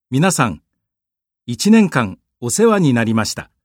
皆さん、1年間お世話になりました。